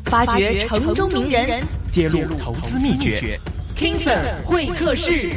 發掘城中名人， 揭露投資秘訣。King Sir 會客室。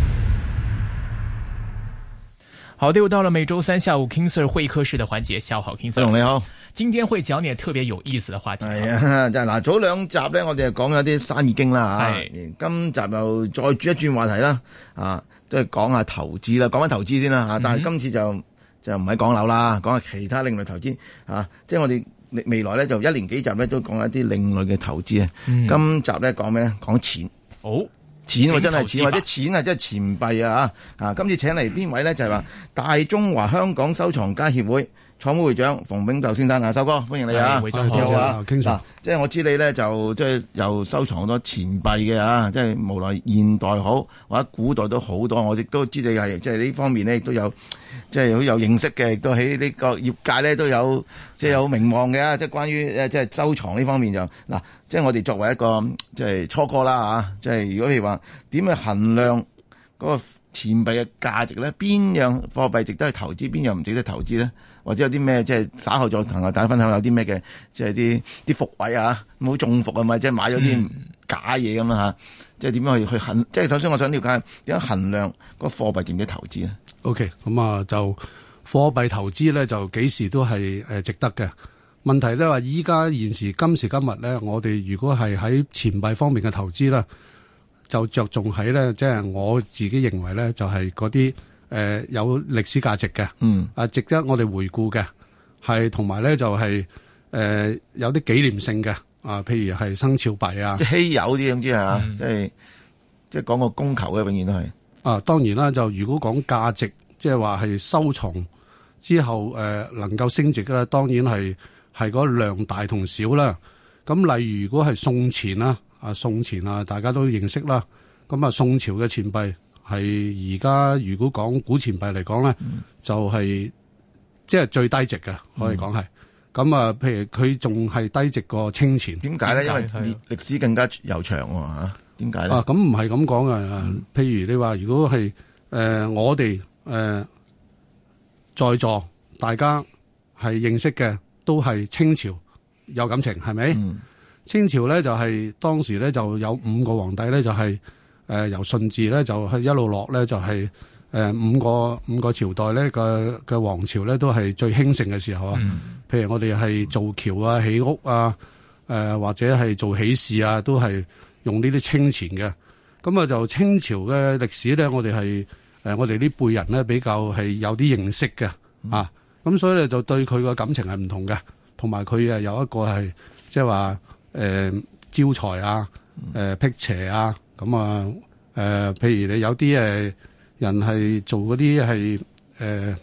好的，又到了每周三下午 King Sir 會客室的環節。下午好 ，King Sir。 你好， 今天會講點特別有意思的話題。 係啊，就嗱早兩集咧，我哋就講咗啲生意經啦吓。今集又再轉一轉話題啦，即係講下投資啦，講翻投資先啦吓。但係今次就唔係講樓啦，講下其他另類投資吓。即係我哋未來咧就一連幾集咧都講一啲另類嘅投資啊。今集咧講咩咧？講錢。錢真係錢，或者錢係真係錢幣啊！今次請嚟邊位咧？就係話大中華香港收藏家協會創會會長馮炳斗先生啊，修哥歡迎你啊！ 會長好啊， 傾偈。 即係我知你咧就即係又收藏好多錢幣嘅即係無論現代好或者古代都好多，我亦都知你係即係呢方面咧亦都有即係好有認識嘅，亦都喺呢個業界咧都有即係有名望嘅。即係關於即係收藏呢方面就嗱，即係我哋作為一個即係初哥啦即係如果譬如話點去衡量嗰個錢幣嘅價值咧，邊樣貨幣值得去投資，邊樣唔值得投資咧？或者有啲咩即係稍後再同大家分享有啲咩嘅即係啲伏位唔好中伏啊嘛，即係買咗啲假嘢咁啦即係點樣去衡？即係首先我想了解點樣衡量個貨幣值唔值得投資咧 ？OK， 咁就貨幣投資咧就幾時都係值得嘅。問題咧話依家現時今時今日咧，我哋如果係喺錢幣方面嘅投資咧，就着重喺咧，即係我自己認為咧，就係嗰啲有歷史價值嘅，值得我哋回顧嘅，係同埋咧就係有啲紀念性嘅，譬如係生肖幣啊， 即係稀有啲咁知係嘛，即係講個供求嘅，永遠都係。 當然啦，就如果講價值，即係話係收藏之後能夠升值嘅，當然係嗰量大同小啦。咁例如如果係宋錢啦。宋錢大家都認識啦。咁宋朝嘅錢幣係而家如果講古錢幣嚟講咧，就係即係最低值嘅，可以講係。咁譬如佢仲係低值過清錢。點解咧？ 因為歷史更加悠長喎。點解咧？ 咁唔係咁講嘅。譬如你話如果係我哋在座大家係認識嘅，都係清朝有感情，係咪？清朝咧就係當時咧就有5個皇帝咧，就係由順治咧就係一路落咧，就係五個朝代咧嘅皇朝咧都係最興盛嘅時候啊。譬如我哋係造橋啊、起屋啊，或者係做喜事啊，都係用呢啲清錢嘅。咁就清朝嘅歷史咧，我哋係我哋呢輩人咧比較係有啲認識嘅咁所以咧就對佢個感情係唔同嘅，同埋佢有一個係即係話。招財辟邪咁譬如你有啲人係做嗰啲係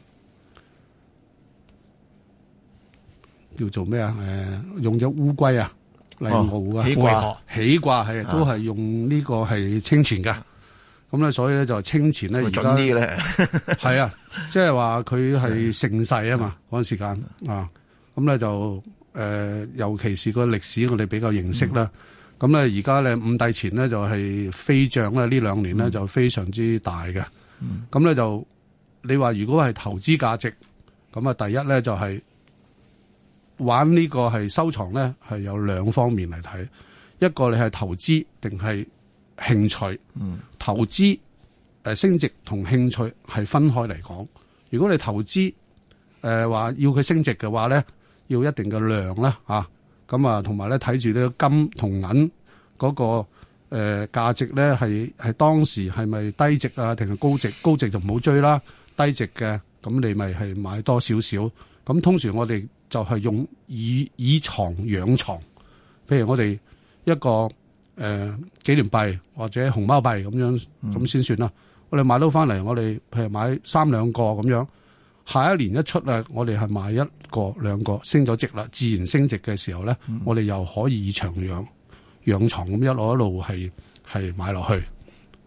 叫做咩用咗烏龜嚟熬起卦係都係用呢個係清錢㗎。咁咧所以咧就清錢咧而家係即係話佢係盛世啊嘛嗰陣時間咁咧就。尤其是個歷史我哋比較認識啦，咁咧而家咧五帝錢咧就係飛漲咧呢2年咧就非常之大嘅，咁咧就你話如果係投資價值，咁第一咧就係玩呢個係收藏咧係有2方面嚟睇，一個你係投資定係興趣，投資升值同興趣係分開嚟講，如果你投資話要佢升值嘅話咧。要一定嘅量啦，咁同埋咧睇住呢個金同銀嗰個價值咧係當時係咪低值啊，定係高值？高值就唔好追啦，低值嘅咁你咪係買多少少。咁通常我哋就係用以藏養藏，譬如我哋一個紀念幣或者熊貓幣咁先算啦。我哋買到翻嚟，我哋譬如買3兩個咁樣。下一年一出我哋係買1個2個升咗值啦，自然升值嘅時候咧，我哋又可以以長養藏咁一路係買落去。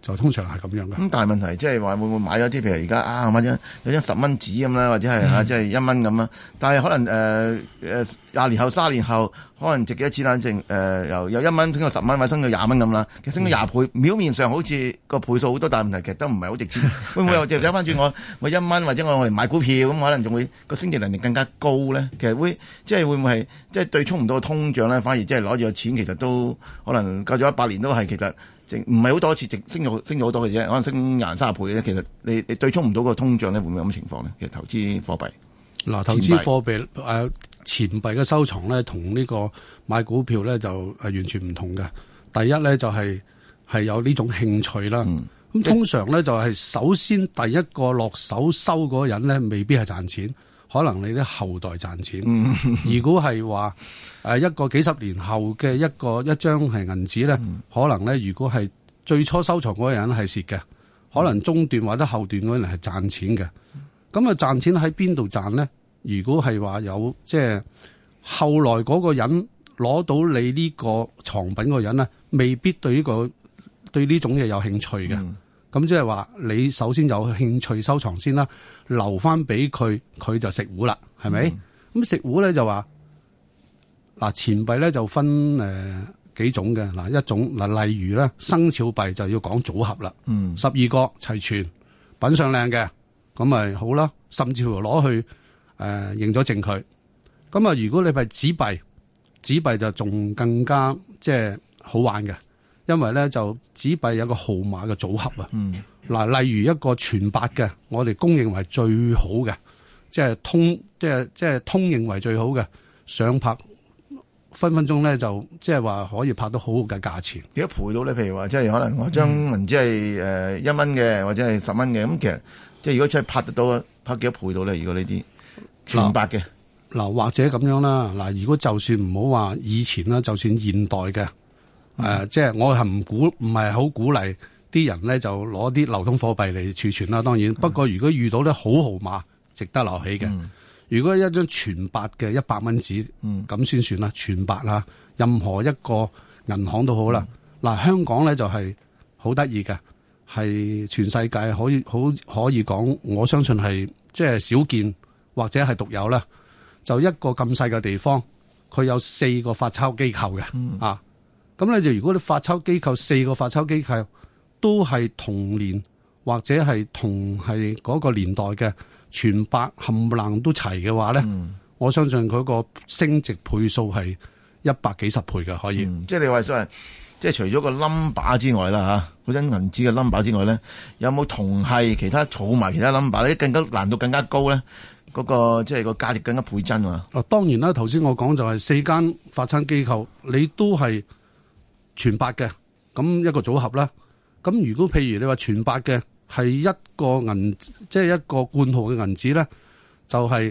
就通常係咁樣嘅。 咁但係問題即係話會唔會買咗啲譬如而家買咗有張10蚊紙咁啦，或者係即係1蚊咁啦。但係可能20年後、30年後，可能值幾多錢啦？由1蚊升到10蚊，或者升到20蚊咁啦。其實升到20倍，表面上好似個倍數好多，但係問題其實都唔係好值錢。會唔會又掉翻轉我1蚊，或者我嚟買股票咁，可能仲會個升值能力更加高咧？其實會唔會係即係對沖唔到個通脹咧？反而即係攞住個錢，其實都可能夠咗100年都係其實。唔係好多次升咗好多嘅啫，可能升20、30倍咧。其實你對沖唔到個通脹咧，會唔會咁嘅情況咧？其實投資貨幣嗱，投資貨幣錢幣嘅收藏咧，同呢個買股票咧就完全唔同嘅。第一咧就係有呢種興趣啦。咁通常咧就係首先第一個落手收嗰個人咧，未必係賺錢。可能你啲後代賺錢。如果係話一個幾十年後嘅一張係銀紙咧，可能咧如果係最初收藏嗰個人係蝕嘅，可能中段或者後段嗰個人係賺錢嘅。咁啊賺錢喺邊度賺咧？如果係話有即係後來嗰個人攞到你呢個藏品嗰個人咧，未必對呢種嘢有興趣嘅。咁即係話你首先有興趣收藏先啦，留翻俾佢，佢就食糊啦，係咪？咁食糊咧就話嗱，錢幣咧就分幾種嘅。嗱，一種嗱，例如咧生肖幣就要講組合啦，12個齊全，品相靚嘅，咁咪好啦，甚至乎攞去認咗證佢。咁啊，如果你係紙幣就仲更加即係好玩嘅。因為咧就紙幣有個號碼嘅組合啊，嗱，例如一個全白嘅，我哋公認為最好嘅，即係通認為最好嘅，上拍分鐘咧就即係話可以拍到好好嘅價錢。 幾多倍到咧？譬如話即係可能我張銀紙係1蚊嘅，或者係10蚊嘅，咁其實即係如果真係拍得到，拍幾多倍到咧？如果呢啲全白嘅嗱，或者咁樣啦，嗱，如果就算唔好話以前啦，就算現代嘅。即係我係唔係好鼓勵啲人咧就攞啲流通貨幣嚟儲存啦。當然，不過如果遇到咧好號碼，值得留起嘅。如果一張全白嘅100蚊紙，咁先算啦。全白啦，任何一個銀行都好啦。嗱，香港咧就係好得意嘅，係全世界可以講，我相信係即係少見或者係獨有啦。就一個咁細嘅地方，佢有4個發鈔機構嘅咁咧就如果你發鈔機構4個發鈔機構都係同年或者係同係嗰個年代嘅全白冚唪唥都齊嘅話咧，我相信佢個升值倍數係100幾十倍嘅可以。 即係你話所謂即係除咗個 number 之外啦嚇，嗰張銀紙嘅 number 之外咧，有冇同係其他儲埋其他 number 咧，更加難度更加高咧？嗰個即係個價值更加倍增啊！ 當然啦，頭先我講就係4間發鈔機構，你都係全白嘅，咁一個組合啦。咁如果譬如你話全白嘅係一個銀，即係一個冠號嘅銀紙咧，就係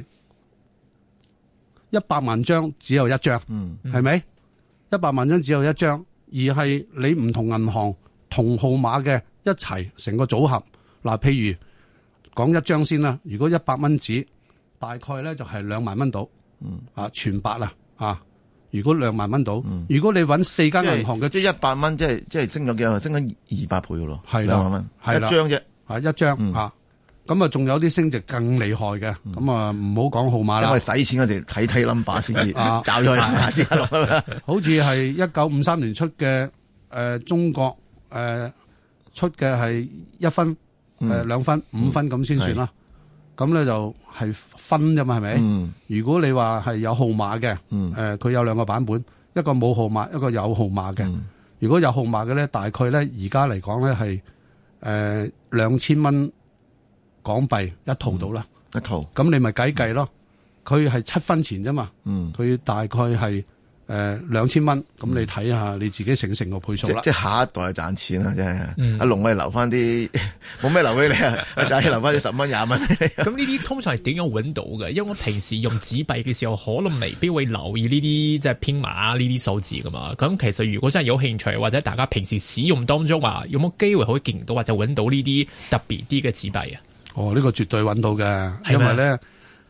100萬張只有一張，係咪？100萬張只有一張，而係你唔同銀行同號碼嘅一齊成個組合。嗱，譬如講一張先啦，如果100蚊紙，大概咧就係2萬蚊到，全白啦，如果2萬蚊到，如果你揾4間銀行嘅， 即係100蚊，即係升咗幾多？升咗200倍嘅咯， 係啦，2萬蚊，係啦， 一張啫， 一張咁啊，仲有啲升值更厲害嘅，咁啊唔好講號碼啦。 因為使錢嗰時睇 number 先至找咗佢先落啦。 好似係1953年出嘅中國出嘅係1分、2分、5分咁先算啦。咁咧就係分啫嘛，係咪？如果你話係有號碼嘅，佢有2個版本，一個冇號碼，一個有號碼嘅。如果有號碼嘅咧，大概咧而家嚟講咧係2000蚊港幣一套到啦， 一套。咁你咪計咯，佢係7分錢啫嘛，佢大概係2000蚊，咁你睇下你自己成個倍數啦。 即係下一代賺錢啦，真係。阿龍我哋留翻啲，冇咩留俾你啊，就係留翻啲10蚊、20蚊。 咁呢啲通常係點樣揾到嘅？因為我平時用紙幣嘅時候，可能未必會留意呢啲即係編碼呢啲數字噶嘛。咁其實如果真係有興趣，或者大家平時使用當中話，有冇機會可以見到或者揾到呢啲特別啲嘅紙幣啊？ 呢個絕對揾到嘅，因為咧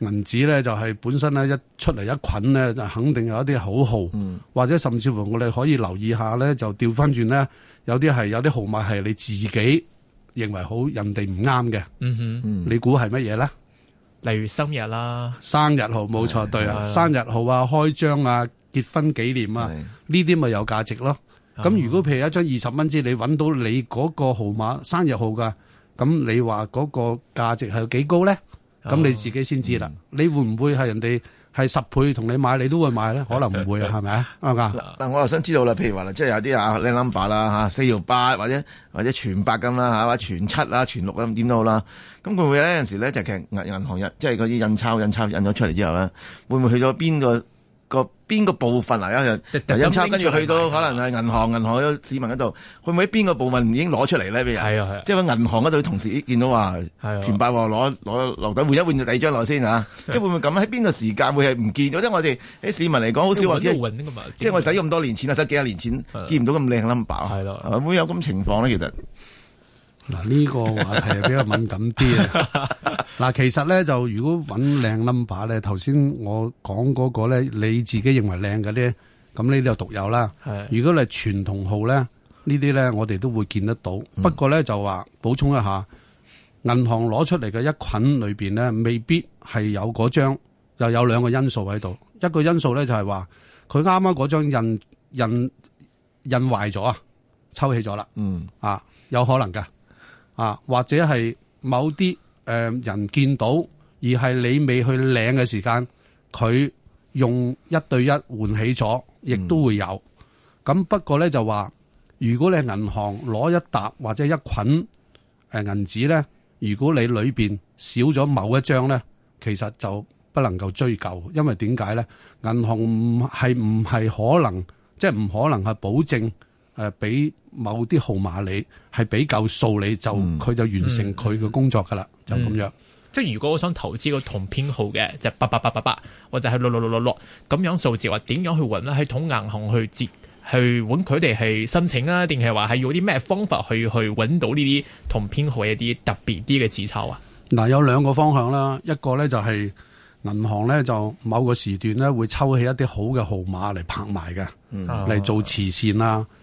銀紙咧就係本身咧一出嚟一捆咧就肯定有一啲口號，或者甚至乎我哋可以留意下咧，就調翻轉咧，有啲號碼係你自己認為好，人哋唔啱嘅。你估係乜嘢咧？ 例如生日啦， 生日號冇錯，對啊，生日號啊、開張啊、結婚紀念啊，呢啲咪有價值咯。咁如果譬如一張20蚊紙，你揾到你嗰個號碼生日號噶，咁你話嗰個價值係有幾高咧？咁你自己先知啦。你會唔會係人哋係10倍同你買，你都會買咧？可能唔會啊，係咪啊？啱唔啱？ 嗱，我又想知道啦，譬如話即係有啲靚 number 啦嚇，4條8或者全8咁啦嚇，或者全7啊、全6咁點都好啦。咁會唔會咧？有陣時咧就其實銀行即係嗰啲印鈔印咗出嚟之後咧，會唔會去咗邊個部分啊？印鈔跟住去到可能係銀行市民嗰度，會唔會喺邊個部分已經攞出嚟咧？俾人係啊，即係喺銀行嗰度同時見到話全8攞落底換一換就第二張落先嚇，即係會唔會咁？喺邊個時間會係唔見咗？即係我哋啲市民嚟講，好少話即係我使咗咁多年錢啊，使幾廿年錢見唔到咁靚 number 係咯，會有咁情況咧？其實。 嗱，呢個話題係比較敏感啲啊！嗱，其實咧就如果揾靚 number 咧，頭先我講嗰個咧，你自己認為靚嘅咧，咁呢啲就獨有啦。如果你係傳統號咧，呢啲咧我哋都會見得到。不過咧就話補充一下，銀行攞出嚟嘅一捆裏邊咧，未必係有嗰張，又有兩個因素喺度。一個因素咧就係話佢啱啱嗰張印壞咗啊，抽起咗啦。有可能噶。或者係某啲人見到，而係你未去領嘅時間，佢用1對1換起咗，亦都會有。咁不過咧就話，如果你係銀行攞一沓或者一捆銀紙咧，如果你裏邊少咗某一張咧，其實就不能夠追究，因為點解咧？銀行唔係可能，即係唔可能係保證俾某啲號碼你係俾夠數，你就佢就完成佢嘅工作噶啦，就咁樣。 即係如果我想投資個同編號嘅，就8888或者係6666咁樣數字，話點樣去揾咧？係同銀行去揾佢哋係申請啊，定係話係用啲咩方法去揾到呢啲同編號一啲特別啲嘅紙鈔啊？嗱， 有兩個方向啦，一個咧就係銀行咧就某個時段咧會抽起一啲好嘅號碼嚟拍賣嘅，嚟做慈善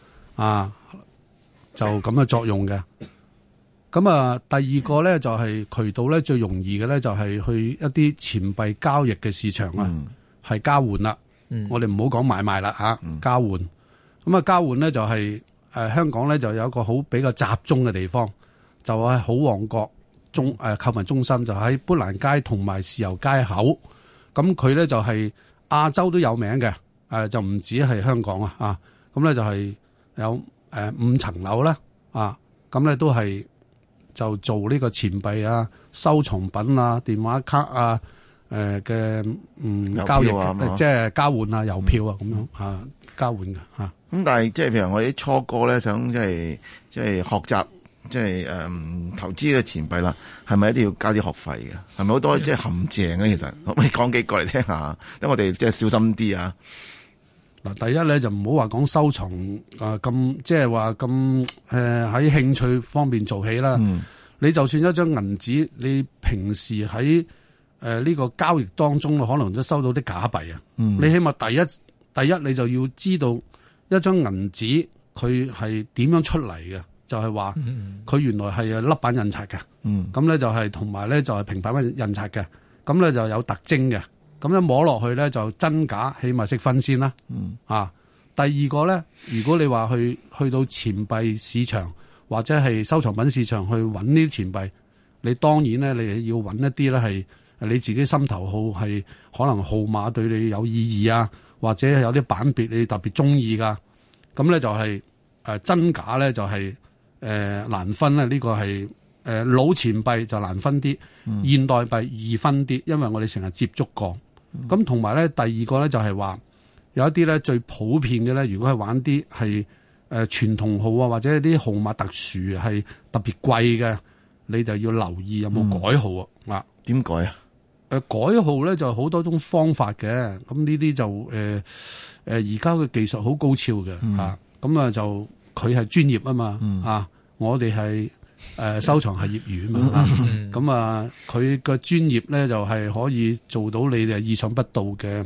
就咁嘅作用嘅。咁第二個咧就係渠道咧最容易嘅咧就係去一啲錢幣交易嘅市場係交換啦。我哋唔好講買賣啦交換。咁交換咧就係香港咧就有一個好比較集中嘅地方，就係好旺角購物中心，就喺砵蘭街同埋豉油街口。咁佢咧就係亞洲都有名嘅，就唔止係香港咁咧就係有5層樓啦，咁咧都係就做呢個錢幣收藏品電話卡嘅交易，即係交換郵票咁樣交換嘅咁但係即係譬如我啲初哥咧想即係學習即係投資嘅錢幣啦，係咪一定要交啲學費嘅？係咪好多即係陷阱咧？其實可唔可以講幾個嚟聽下？等我哋即係小心啲啊！ 嗱，第一咧就唔好話講收藏咁，即係話咁喺興趣方面做起啦。你就算一張銀紙，你平時喺呢個交易當中，可能都收到啲假幣你起碼第一你就要知道一張銀紙佢係點樣出嚟嘅，就係話佢原來係粒版印刷嘅。咁咧就係同埋咧就係平板印刷嘅。咁咧就有特徵嘅。咁一摸落去咧就真假，起碼識分先啦。第二個咧，如果你話去到錢幣市場或者係收藏品市場去揾呢啲錢幣，你當然咧你要揾一啲咧係你自己心頭好，係可能號碼對你有意義或者有啲版別你特別中意噶。咁咧就係真假咧就係難分咧。呢個係老錢幣就難分啲，現代幣易分啲，因為我哋成日接觸過。咁同埋咧，第二個咧就係話有一啲咧最普遍嘅咧，如果係玩啲係傳統號或者啲號碼特殊係特別貴嘅，你就要留意有冇改號點改啊？ 改號咧就好多種方法嘅。咁呢啲就而家嘅技術好高超嘅咁就佢係專業啊嘛我哋係收藏係業餘嘛，咁啊佢個專業咧就係可以做到你哋意想不到嘅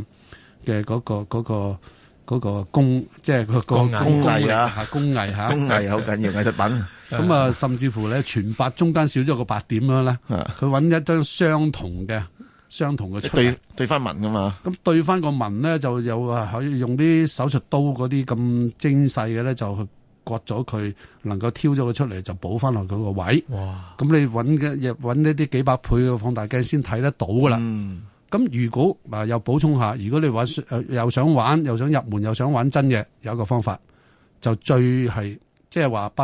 嗰個工，即係個工藝啊， 工藝嚇， 工藝好緊要，藝術品。 咁啊，甚至乎咧全白中間少咗個白點樣咧，佢揾一張相同嘅出嚟對翻紋噶嘛。 咁對翻個紋咧，就有可以用啲手術刀嗰啲咁精細嘅咧，就去割咗佢，能夠挑咗佢出嚟，就補翻落佢個位。哇！咁你揾呢啲幾百倍嘅放大鏡先睇得到噶啦。咁如果又補充下，如果你玩又想玩又想入門又想玩真嘅，有一個方法就最係即係話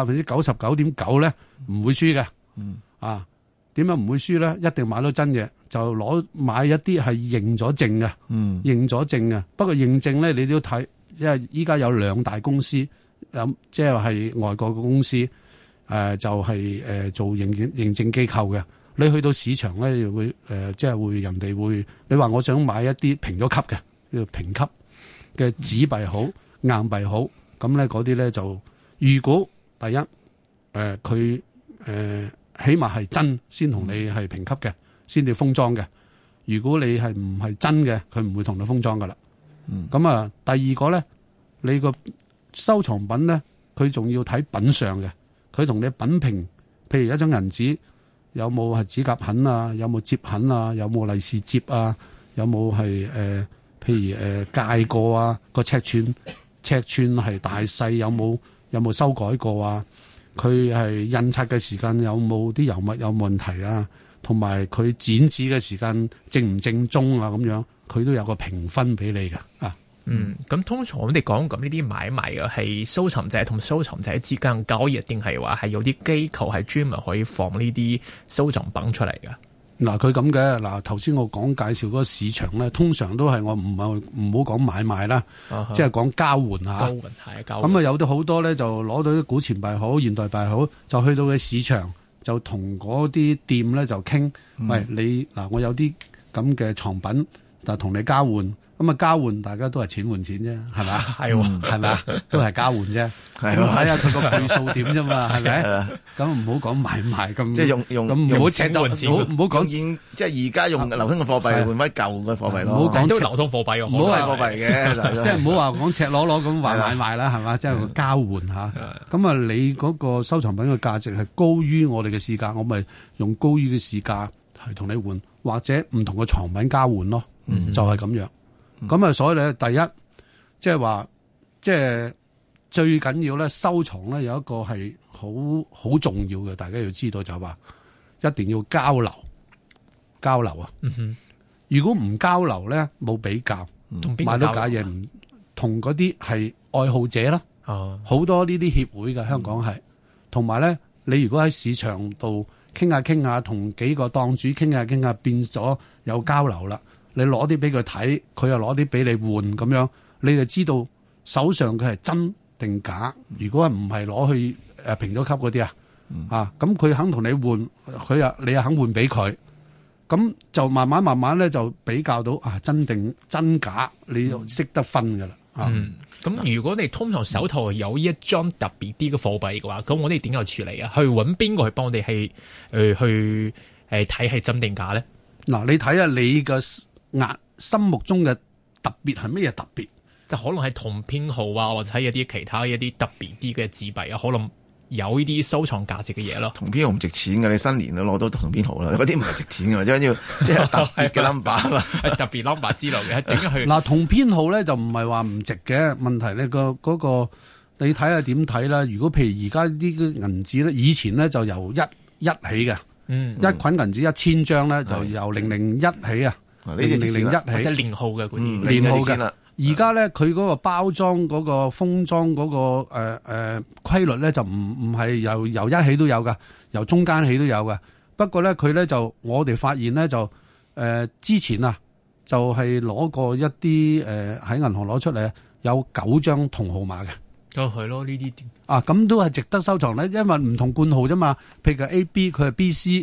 99.9%咧唔會輸嘅。啊，點解唔會輸咧？一定買到真嘅，就買一啲係認咗證嘅。認咗證嘅。不過認證咧，你都要睇，因為依家有2大公司，即係外國嘅公司，就係做認證機構嘅。你去到市場咧，會即係會人哋會，你話我想買一啲評咗級嘅，叫評級嘅紙幣好、硬幣好，咁咧嗰啲咧就，如果第一佢起碼係真先同你係評級嘅，先至封裝嘅。如果你係唔係真嘅，佢唔會同你封裝噶啦。咁啊，第二個咧，你個收藏品咧，佢仲要睇品相嘅，佢同你品評，譬如一張銀紙。有冇係指甲痕啊？有冇折痕啊？有冇利是折啊？有冇係譬如界過啊？個尺寸係大細有冇修改過啊？佢係印刷嘅時間有冇啲油墨有問題啊？同埋佢剪紙嘅時間正唔正宗啊？咁樣佢都有個評分俾你㗎啊！ 咁通常我哋講咁呢啲買賣嘅係收藏者同收藏者之間交易，定係話係有啲機構係專門可以放呢啲收藏品出嚟嘅？ 嗱，佢咁嘅嗱，頭先我介紹嗰個市場咧，通常都係我唔好講買賣啦，即係講交換嚇。交換咁啊，有啲好多咧就攞到啲古錢幣好、現代幣好，就去到嘅市場就同嗰啲店咧就傾，喂，你嗱，我有啲咁嘅藏品，就同你交換。咁啊，交換大家都係錢換錢啫，係咪？係，係咪？都係交換啫。係睇下佢個倍數點啫嘛，係咪？咁唔好講買賣咁， 即係用咁唔好錢換錢，唔好講現，即係而家用流通嘅貨幣換翻舊嘅貨幣咯。 唔好講都流通貨幣， 唔好係貨幣嘅， 即係唔好話講赤裸裸咁話買賣啦，係嘛？即係交換嚇。咁啊，你嗰個收藏品嘅價值係高於我哋嘅市價，我咪用高於嘅市價去同你換，或者唔同嘅藏品交換咯，就係咁樣。咁啊，所以咧，第一，即係話，即係最緊要咧，收藏咧有一個係好重要嘅，大家要知道就係話，一定要交流啊。如果唔交流咧，冇比較，買到假嘢唔同嗰啲係愛好者啦。好多呢啲協會嘅香港係，同埋咧，你如果喺市場度傾下，同幾個檔主傾下，變咗有交流啦。你攞啲俾佢睇，佢又攞啲俾你換咁樣，你就知道手上佢係真定假。如果唔係攞去評咗級嗰啲咁佢肯同你換，你又肯換俾佢，咁就慢慢咧就比較到真定真假，你就識得分噶啦。 咁如果你通常手頭有一張特別啲嘅貨幣嘅話，咁我哋點樣處理啊？去揾邊個去幫我哋去睇係真定假咧？ 嗱，你睇下你嘅心目中嘅特別係乜嘢特別？ 就可能係同編號啊，或者係一啲其他一啲特別啲嘅紙幣啊，可能有呢啲收藏價值嘅嘢咯。同編號唔值錢嘅，你新年都攞到同編號啦，嗰啲唔係值錢嘅，即係要即係特別嘅 number 啦， 係特別 number 之類嘅。點樣去嗱？同編號咧就唔係話唔值嘅問題咧，嗰個你睇下點睇啦。如果譬如而家呢個銀紙咧，以前咧就由一起嘅，一捆銀紙1000張咧就由001起啊。001起， 即係連號嘅嗰啲， 連號嘅。而家咧，佢嗰個包裝嗰個封裝嗰個規律咧，就唔係由一起都有噶，由中間起都有噶。不過咧，佢咧就我哋發現咧就之前啊，就係攞過一啲喺銀行攞出嚟有9張同號碼嘅。 係咯，呢啲咁都係值得收藏咧，因為唔同冠號啫嘛。譬如 AB， 佢係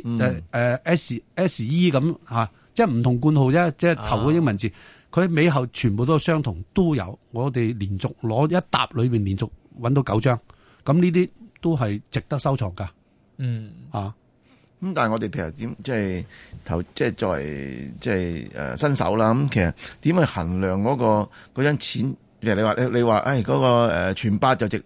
BC，SE 咁嚇。即係唔同冠號啫，即係頭個英文字，佢尾後全部都相同，都有。我哋連續攞一沓裏邊連續揾到9張，咁呢啲都係值得收藏噶。 咁但係我哋譬如點即係作為即係新手啦，咁其實點去衡量嗰張錢？譬如你話嗰個全八就值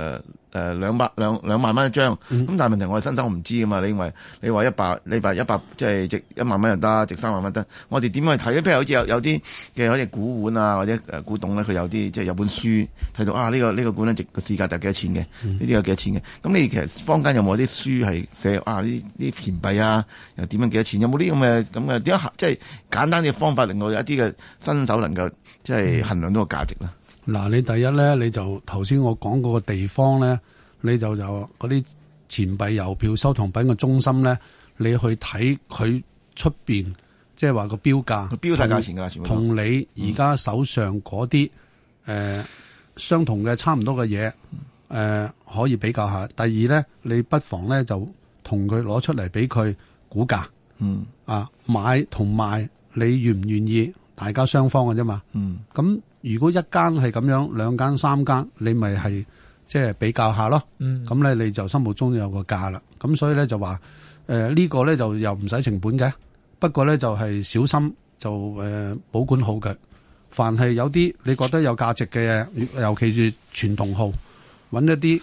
2萬蚊一張，咁但係問題我哋新手我唔知噶嘛？你話100即係值1萬蚊又得，值3萬蚊得，我哋點去睇咧？譬如好似有啲嘅好似古玩啊或者古董咧，佢有啲即係有本書睇到呢個古咧值個市價就幾多錢嘅，呢啲有幾多錢嘅？咁你其實坊間有冇啲書係寫呢錢幣啊又點樣幾多錢？有冇啲咁嘅點樣即係簡單嘅方法令到有一啲嘅新手能夠即係衡量到個價值咧？ 嗱，你第一咧，你就頭先我講嗰個地方咧，你就嗰啲錢幣郵票收藏品嘅中心咧，你去睇佢出邊，即係話個標價， 標晒價錢㗎，全部同你而家手上嗰啲相同嘅差唔多嘅嘢，可以比較下。第二咧，你不妨咧就同佢攞出嚟俾佢估價，買同賣，你願唔願意？大家雙方嘅啫嘛，咁。如果一間係咁樣，2間3間，你咪係即係比較下咯。咁咧你就心目中有個價啦。咁所以咧就話呢個咧就又唔使成本嘅，不過咧就係小心就保管好嘅。凡係有啲你覺得有價值嘅，尤其是傳統號，揾一啲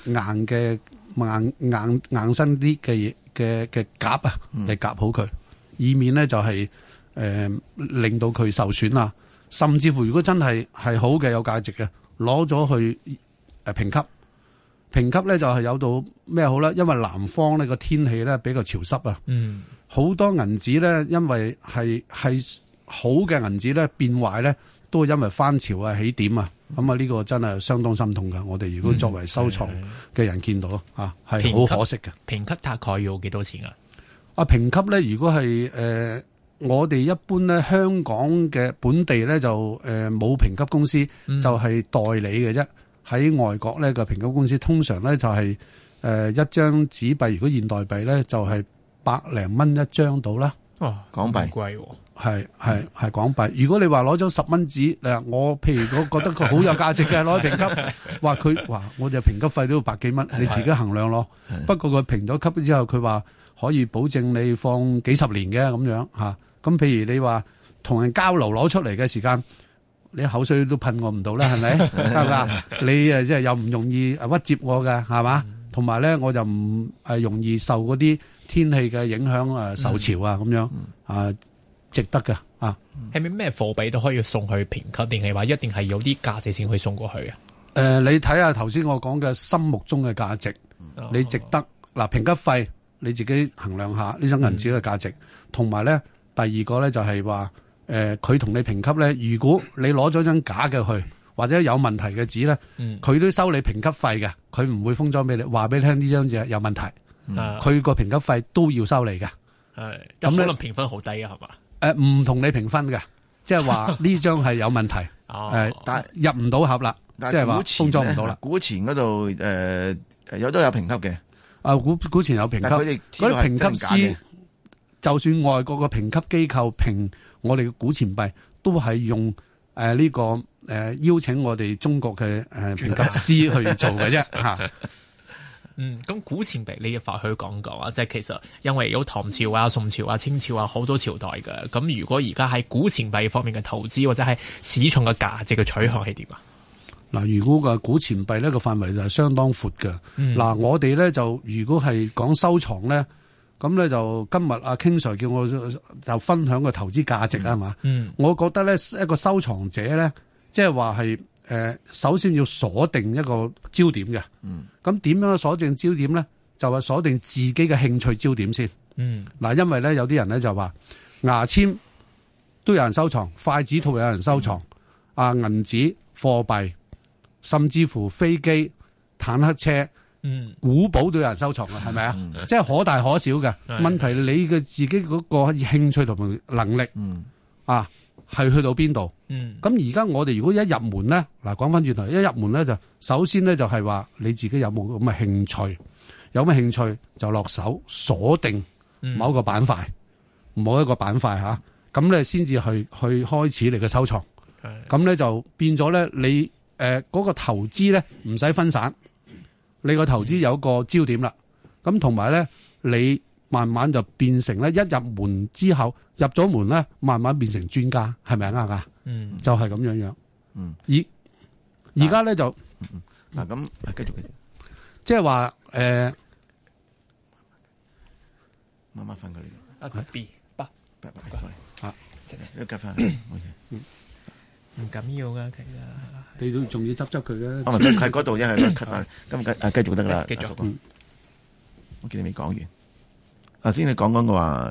硬身啲嘅夾啊嚟夾好佢，以免咧就係令到佢受損啊。甚至乎，如果真係好嘅、有價值嘅，攞咗去評級，評級咧就係有到咩好咧？因為南方呢個天氣咧比較潮濕啊，好多銀紙咧，因為係好嘅銀紙咧變壞咧，都係因為翻潮啊、起點啊，咁啊呢個真係相當心痛噶。我哋如果作為收藏嘅人見到係好可惜嘅。 評級大概要幾多錢啊？ 評級咧，如果係我哋一般咧，香港嘅本地咧就冇評級公司，就係代理嘅啫。喺外國咧個評級公司通常咧就係一張紙幣，如果現代幣咧就係100零蚊一張到啦。 港幣貴喎， 係港幣。如果你話攞張10蚊紙，我譬如我覺得佢好有價值嘅，攞去評級，我哋評級費都要100幾蚊，你自己衡量咯。不過佢評咗級之後，佢話可以保證你放幾十年嘅咁樣嚇。咁譬如你話同人交流攞出嚟嘅時間，你口水都噴我唔到啦，係咪？係嘛？你即係又唔容易屈接我嘅，係嘛？同埋咧，我就唔容易受嗰啲天氣嘅影響受潮啊咁樣值得嘅啊。 係咪咩貨幣都可以送去評級，定係話一定係有啲價值先可以送過去啊？ 你睇下頭先我講嘅心目中嘅價值，你值得評級費你自己衡量下呢張銀紙嘅價值，同埋咧。第二個咧就係話，佢同你評級咧，如果你攞咗張假嘅去，或者有問題嘅紙咧，佢都收你評級費嘅，佢唔會封裝俾你，話俾你聽呢張嘢有問題，佢個評級費都要收你嘅。 係咁可能評分好低啊，係嘛？ 唔同你評分嘅，即係話呢張係有問題，但係入唔到盒啦，即係話封裝唔到啦。 古錢嗰度都有評級嘅， 古錢有評級，嗰啲評級師。就算外國嘅評級機構評我哋嘅古錢幣，都係用呢個邀請我哋中國嘅評級師去做嘅啫嚇。 咁古錢幣你嘅法去講講啊，即係其實因為有唐朝啊、宋朝啊、清朝啊好多朝代嘅。咁如果而家喺古錢幣方面嘅投資或者係市場嘅價值嘅取向係點啊？ 嗱，如果個古錢幣呢個範圍就係相當闊嘅。嗱，我哋咧就如果係講收藏咧。咁咧就今日阿 King Sir 叫我就分享個投資價值啊嘛，我覺得咧一個收藏者咧，即係話係首先要鎖定一個焦點嘅，咁點樣鎖定焦點咧？就係鎖定自己嘅興趣焦點先。嗱，因為咧有啲人咧就話牙籤都有人收藏，筷子套有人收藏，銀紙、貨幣，甚至乎飛機、坦克車。古堡都有人收藏嘅，係咪啊？即係可大可小嘅問題，你嘅自己嗰個興趣同埋能力，係去到邊度？咁而家我哋如果一入門咧，嗱，講翻轉頭，一入門咧就首先咧就係話你自己有冇咁嘅興趣，有咩興趣就落手鎖定某一個板塊，某一個板塊吓，咁咧先至去開始你嘅收藏。咁咧就變咗咧，你嗰個投資咧唔使分散。你個投資有個焦點啦，咁同埋咧， 你慢慢就變成咧，一入門之後入咗門咧，慢慢變成專家，係咪啱噶？就係咁樣樣。而家咧就嗱咁繼續， 即係話慢慢分佢呢個 B 八啊， 一夾翻， 唔緊要噶，其實你都仲要執佢嘅。 我咪喺嗰度一係咯，cut 翻，咁繼續得啦。 繼續。 我見你未講完。頭先你講嘅話，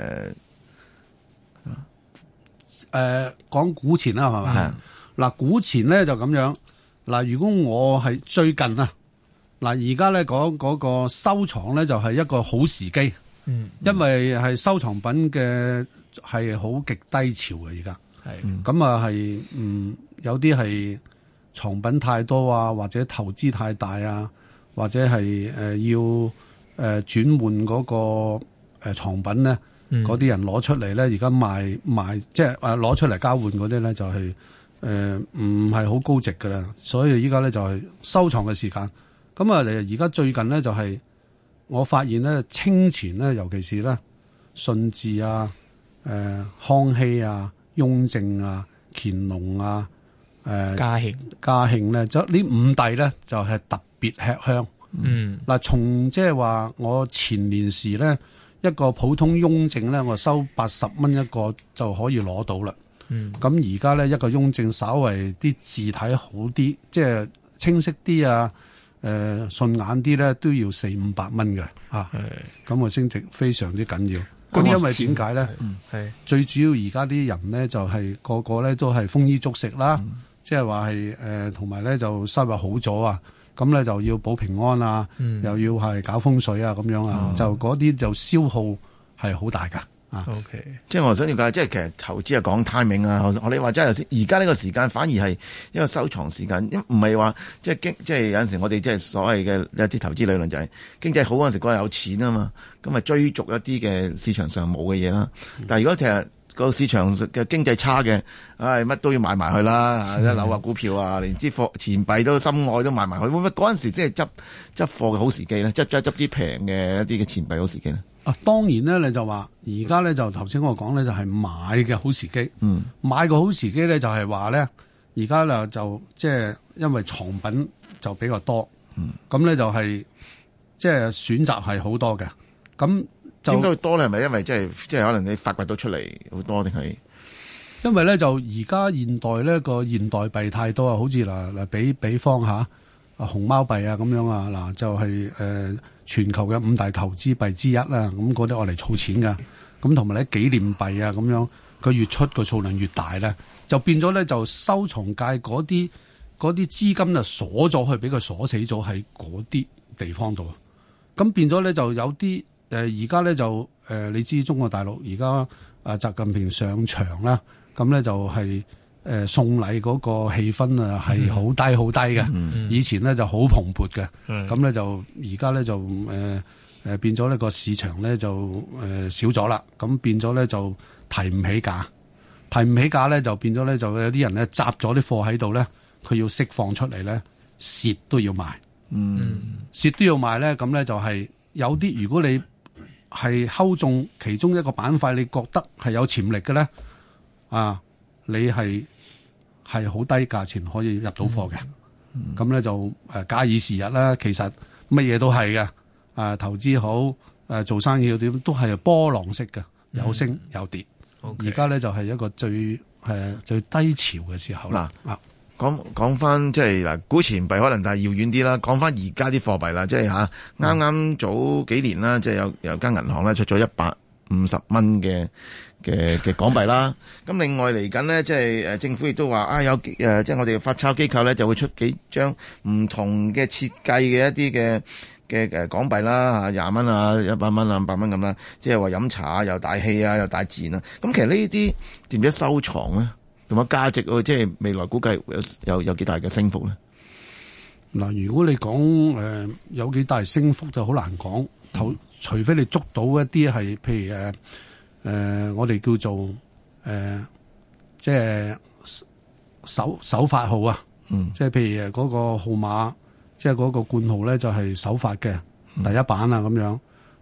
講股錢啦，係嘛？嗱，股錢咧就咁樣。嗱，如果我係最近啊，嗱而家咧講嗰個收藏咧就係一個好時機。因為係收藏品嘅係好極低潮嘅而家。咁啊係有啲係藏品太多啊，或者投資太大啊，或者係要轉換嗰個藏品咧，嗰啲人攞出嚟咧，而家賣即係攞出嚟交換嗰啲咧，就係唔係好高值噶啦，所以依家咧就係收藏嘅時間。咁啊，而家最近咧就係我發現咧，清錢咧，尤其是咧順治啊、康熙啊、雍正啊、乾隆啊、 嘉慶咧，就呢五帝咧就係特別吃香。嗱，從即係話我前年時咧，一個普通雍正咧，我收80蚊一個就可以攞到啦。咁而家咧一個雍正稍為啲字體好啲，即係清晰啲啊，順眼啲咧，都要400-500蚊嘅啊。咁個升值非常之緊要。咁因為點解咧？最主要而家啲人咧就係個個咧都係豐衣足食啦，即係話係同埋咧就收入好咗啊。咁咧就要保平安啊，又要係搞風水啊，咁樣啊，就嗰啲就消耗係好大噶。 OK， 即係我想了解，即係其實投資係講 timing 啊。我你話真係而家呢個時間反而係一個收藏時間，唔係話即係有陣時我哋即係所謂嘅一啲投資理論就係經濟好嗰陣時嗰日有錢啊嘛，咁咪追逐一啲嘅市場上冇嘅嘢啦。但係如果其實個市場嘅經濟差嘅，乜都要買埋去啦，一樓啊、股票啊，連支錢幣都心愛都買埋去。會唔會嗰陣時即係執貨嘅好時機咧？執啲平嘅一啲嘅錢幣好時機咧？ 當然咧，你就話而家咧就頭先我講咧就係買嘅好時機。買個好時機咧就係話咧，而家就即係因為藏品就比較多，咁咧就係即係選擇係好多嘅。咁點解會多咧？係咪因為即係可能你發掘到出嚟好多，定係因為咧就而家現代咧個現代幣太多啊？好似嗱比方下熊貓幣啊咁樣啊，嗱就係全球嘅5大投資幣之一啦。咁嗰啲我嚟儲錢噶，咁同埋咧紀念幣啊咁樣，佢越出個數量越大咧，就變咗咧就收藏界嗰啲資金就鎖咗去，俾佢鎖死咗喺嗰啲地方度。咁變咗咧就有啲而家咧就你知中國大陸而家習近平上場啦，咁咧就係送禮嗰個氣氛啊係好低好低嘅。以前咧就好蓬勃嘅，咁咧就而家咧就變咗呢個市場咧就少咗啦，咁變咗咧就提唔起價咧就變咗咧就有啲人咧集咗啲貨喺度咧，佢要釋放出嚟咧蝕都要賣，蝕都要賣咧，咁咧就係有啲如果你係睺中其中一個板塊，你覺得係有潛力嘅咧，你係好低價錢可以入到貨嘅，咁咧就假以時日啦。其實乜嘢都係嘅，投資好做生意要點都係波浪式嘅，有升有跌。而家咧就係一個最低潮嘅時候啦。 講翻即係嗱，古錢幣可能係遙遠啲啦。講翻而家啲貨幣啦，即係啱啱早幾年啦，即係有間銀行咧出咗150蚊嘅港幣啦。咁另外嚟緊呢，即係政府亦都話有即係我哋嘅發鈔機構咧就會出幾張唔同嘅設計嘅一啲嘅港幣啦，20蚊啊、100蚊啊、500蚊咁啦。即係話飲茶又大氣啊，又大自然啊。咁其實呢啲點樣收藏咧？同埋價值即係未來估計有幾大嘅升幅咧？ 嗱，如果你講有幾大升幅就好難講，除非你捉到一啲係譬如我哋叫做即係首發號啊，即係譬如嗰個號碼，即係嗰個冠號咧就係首發嘅第一版啊咁樣。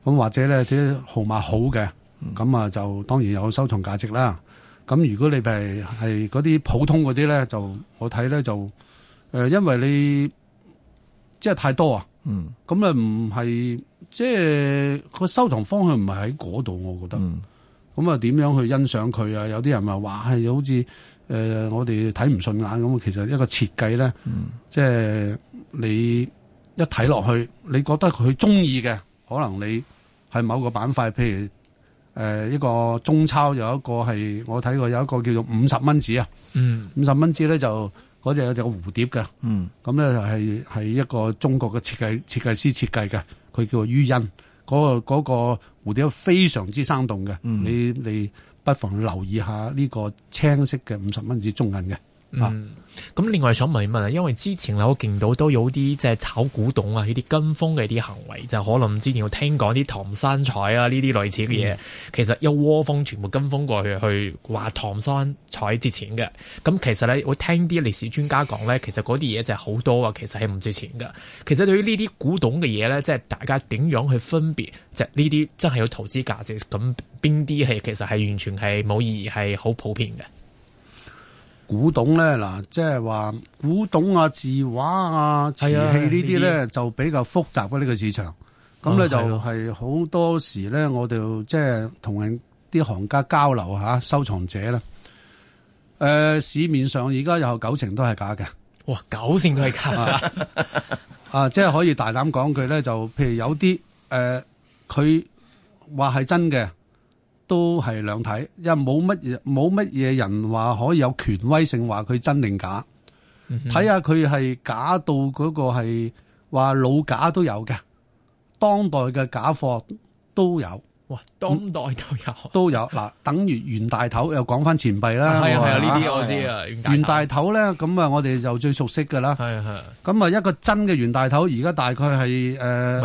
咁或者咧啲號碼好嘅，咁啊就當然有收藏價值啦。咁如果你係嗰啲普通嗰啲咧，就我睇咧就因為你即係太多啊，咁啊唔係即係個收藏方向唔係喺嗰度，我覺得。咁啊點樣去欣賞佢啊？有啲人話係好似我哋睇唔順眼咁，其實一個設計咧，即係你一睇落去，你覺得佢中意嘅，可能你係某個板塊，譬如一個中鈔有一個係我睇過有一個叫做50蚊紙啊，50蚊紙咧就嗰隻有隻蝴蝶嘅，咁咧係一個中國嘅設計師設計嘅，佢叫做于欣，嗰個蝴蝶非常之生動嘅，你不妨留意下呢個青色嘅50蚊紙中銀嘅。 咁另外想問一問啊，因為之前我見到都有啲即係炒古董啊，呢啲跟風嘅啲行為，就可能之前有聽講啲唐山彩啊呢啲類似嘅嘢，其實一窩蜂全部跟風過去話唐山彩值錢嘅。咁其實咧，我聽啲歷史專家講咧，其實嗰啲嘢就係好多啊，其實係唔值錢嘅。其實對於呢啲古董嘅嘢咧，即係大家點樣去分別，即係呢啲真係有投資價值，咁邊啲係其實係完全係冇意義，係好普遍嘅。 古董咧嗱，即係話古董啊、字畫啊、瓷器呢啲咧就比較複雜嘅呢個市場。咁咧就係好多時咧，我哋即係同人啲行家交流下收藏者咧。市面上而家有90%都係假嘅。 哇，90%都係假即係可以大膽講句咧，就譬如有啲佢話係真嘅。都係兩睇，因為冇乜嘢人話可以有權威性話佢真定假，睇下佢係假到嗰個係話老假都有嘅，當代嘅假貨都有。 哇，當代都有嗱，等於袁大頭又講翻錢幣啦， 係啊，呢啲我知啊。 袁大頭咧，咁啊，我哋就最熟悉噶啦。係。咁啊，一個真嘅袁大頭，而家大概係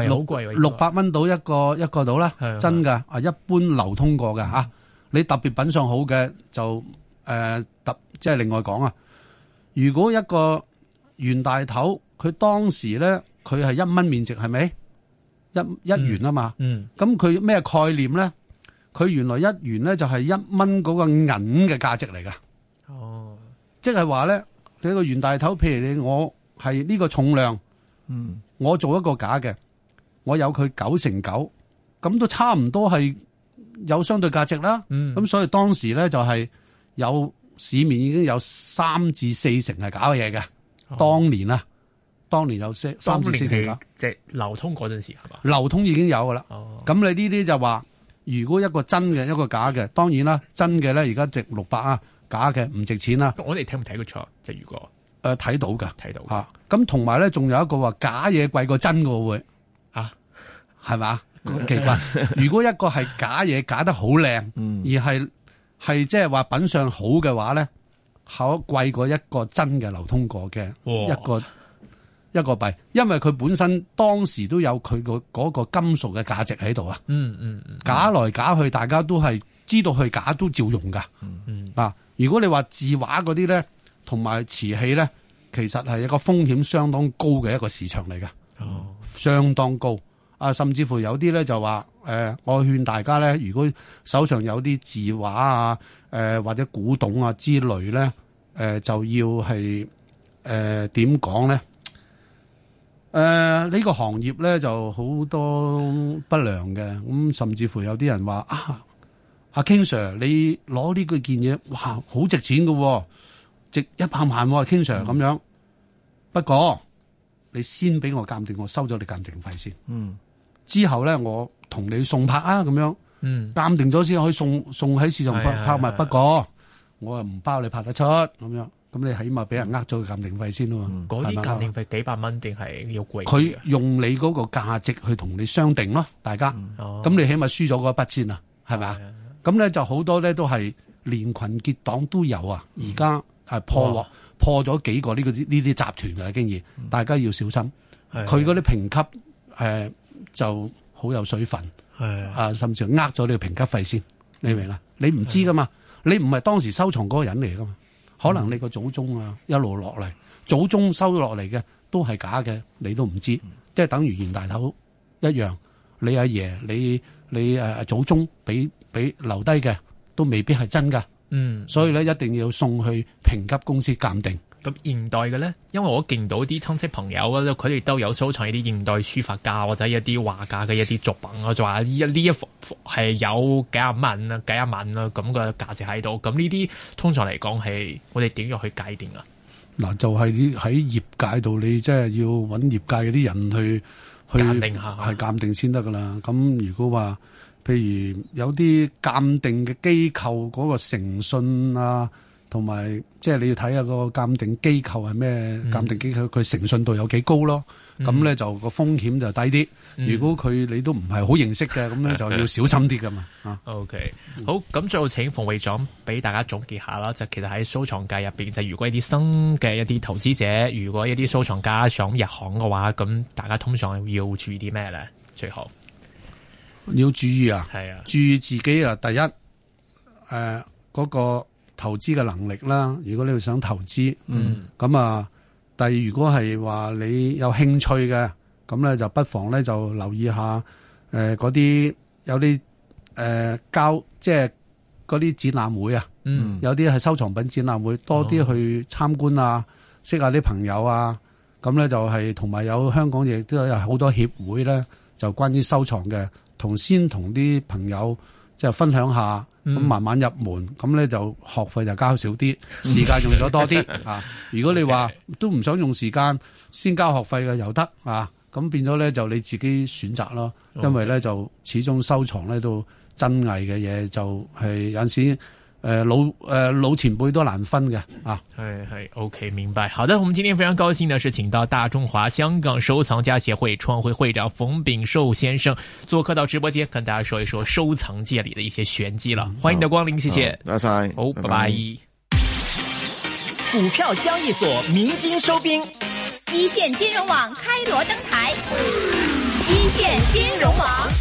600蚊到一個到啦，真噶啊，一般流通過嘅吓。你特別品相好嘅就即係另外講啊。如果一個袁大頭，佢當時咧佢係1蚊面值，係咪？一元啊嘛，咁佢咩概念咧？佢原來1元咧就係1蚊嗰個銀嘅價值嚟噶。哦，即係話咧，你個袁大頭，譬如我係呢個重量，我做一個假嘅，我有佢9成9，咁都差唔多係有相對價值啦。咁所以當時咧就係有市面已經有3至4成係假嘅嘢嘅。當年有3至4成㗎， 即係流通嗰陣時係嘛？ 流通已經有㗎啦。咁你呢啲就話，如果一個真嘅一個假嘅，當然啦，真嘅咧而家值600啊，假嘅唔值錢啦。 我哋睇唔睇得出？即係如果睇到㗎，睇到嚇。咁同埋咧，仲有一個話假嘢貴過真嘅會啊，係嘛？奇怪。如果一個係假嘢假得好靚，而係即係話品相好嘅話咧，貴過一個真嘅流通過嘅一個幣，因為佢本身當時都有佢嗰個金屬嘅價值喺度啊。假來假去，大家都係知道佢假都照用噶。如果你話字畫嗰啲咧，同埋瓷器咧，其實係一個風險相當高嘅一個市場嚟嘅。相當高啊！甚至乎有啲咧就話我勸大家咧，如果手上有啲字畫啊，或者古董啊之類咧，就要係點講咧？呢個行業咧就好多不良嘅，咁甚至乎有啲人話阿 King Sir 你攞呢件嘢，哇，好值錢㗎，值100萬，King Sir 咁樣。不過你先俾我鑑定，我收咗你鑑定費先。之後咧我同你送拍啊，咁樣。鑑定咗先可以送喺市場拍賣。不過我又唔包你拍得出咁樣。咁你起碼俾人呃咗個鑑定費先啊嘛， 嗰啲鑑定費幾百蚊定係要貴？ 佢用你嗰個價值去同你相定咯，大家。咁你起碼輸咗嗰筆先啊，係咪啊？咁咧就好多咧都係連群結黨都有啊，而家係破咗幾個呢啲集團嘅經驗，大家要小心。佢嗰啲評級就好有水分，甚至呃咗你個評級費先，你明啊？你唔知噶嘛，你唔係當時收藏嗰個人嚟噶嘛。可能你個祖宗啊一路落嚟，祖宗收落嚟嘅都係假嘅，你都唔知，即係等於袁大頭一樣。 你阿爺你祖宗俾留低嘅都未必係真㗎。所以咧一定要送去評級公司鑑定。 咁現代嘅咧，因為我見到啲親戚朋友咧，佢哋都有收藏一啲現代書法家或者一啲畫家嘅一啲作品，我就話呢一幅係有幾廿萬啦咁嘅價值喺度。咁呢啲通常嚟講係我哋點樣去界定啊？ 嗱，就係喺業界度，你即係要揾業界嗰啲人去鑑定下， 係鑑定先得噶啦。咁如果話譬如有啲鑑定嘅機構嗰個誠信啊，同埋即係你要睇下個鑑定機構係咩鑑定機構，佢誠信度有幾高咯。咁咧就個風險就低啲。如果你都唔係好認識嘅，咁咧就要小心啲噶嘛。 OK， 好，咁最後請馮會長俾大家總結下啦。就其實喺收藏界入邊，就如果一啲新嘅一啲投資者，如果一啲收藏家想入行嘅話，咁大家通常要注意啲咩咧？最後要注意啊， 係啊， 注意自己啊。第一，嗰個投資嘅能力啦。如果你想投資，咁啊。第二，如果係話你有興趣嘅，咁咧就不妨咧就留意下嗰啲有啲即係嗰啲展覽會啊，有啲係收藏品展覽會，多啲去參觀啊，識下啲朋友啊，咁咧就係同埋有香港亦都有好多協會咧，就關於收藏嘅，先同啲朋友即係分享下。咁慢慢入門，咁咧就學費就交少啲，時間用咗多啲啊！如果你話都唔想用時間先交學費嘅又得啊！咁變咗咧就你自己選擇咯，因為咧就始終收藏咧都真偽嘅嘢就係有陣時老前輩都難分嘅啊。 係 OK， 明白。好的，我們今天非常高興的是請到大中華香港收藏家協會創會會長馮秉壽先生做客到直播間，跟大家說一說收藏界裏的一些玄機了。歡迎你的光臨，謝謝。 多謝。 好，拜拜。 股票交易所鳴金收兵， 一線金融網開鑼登台，一線金融網。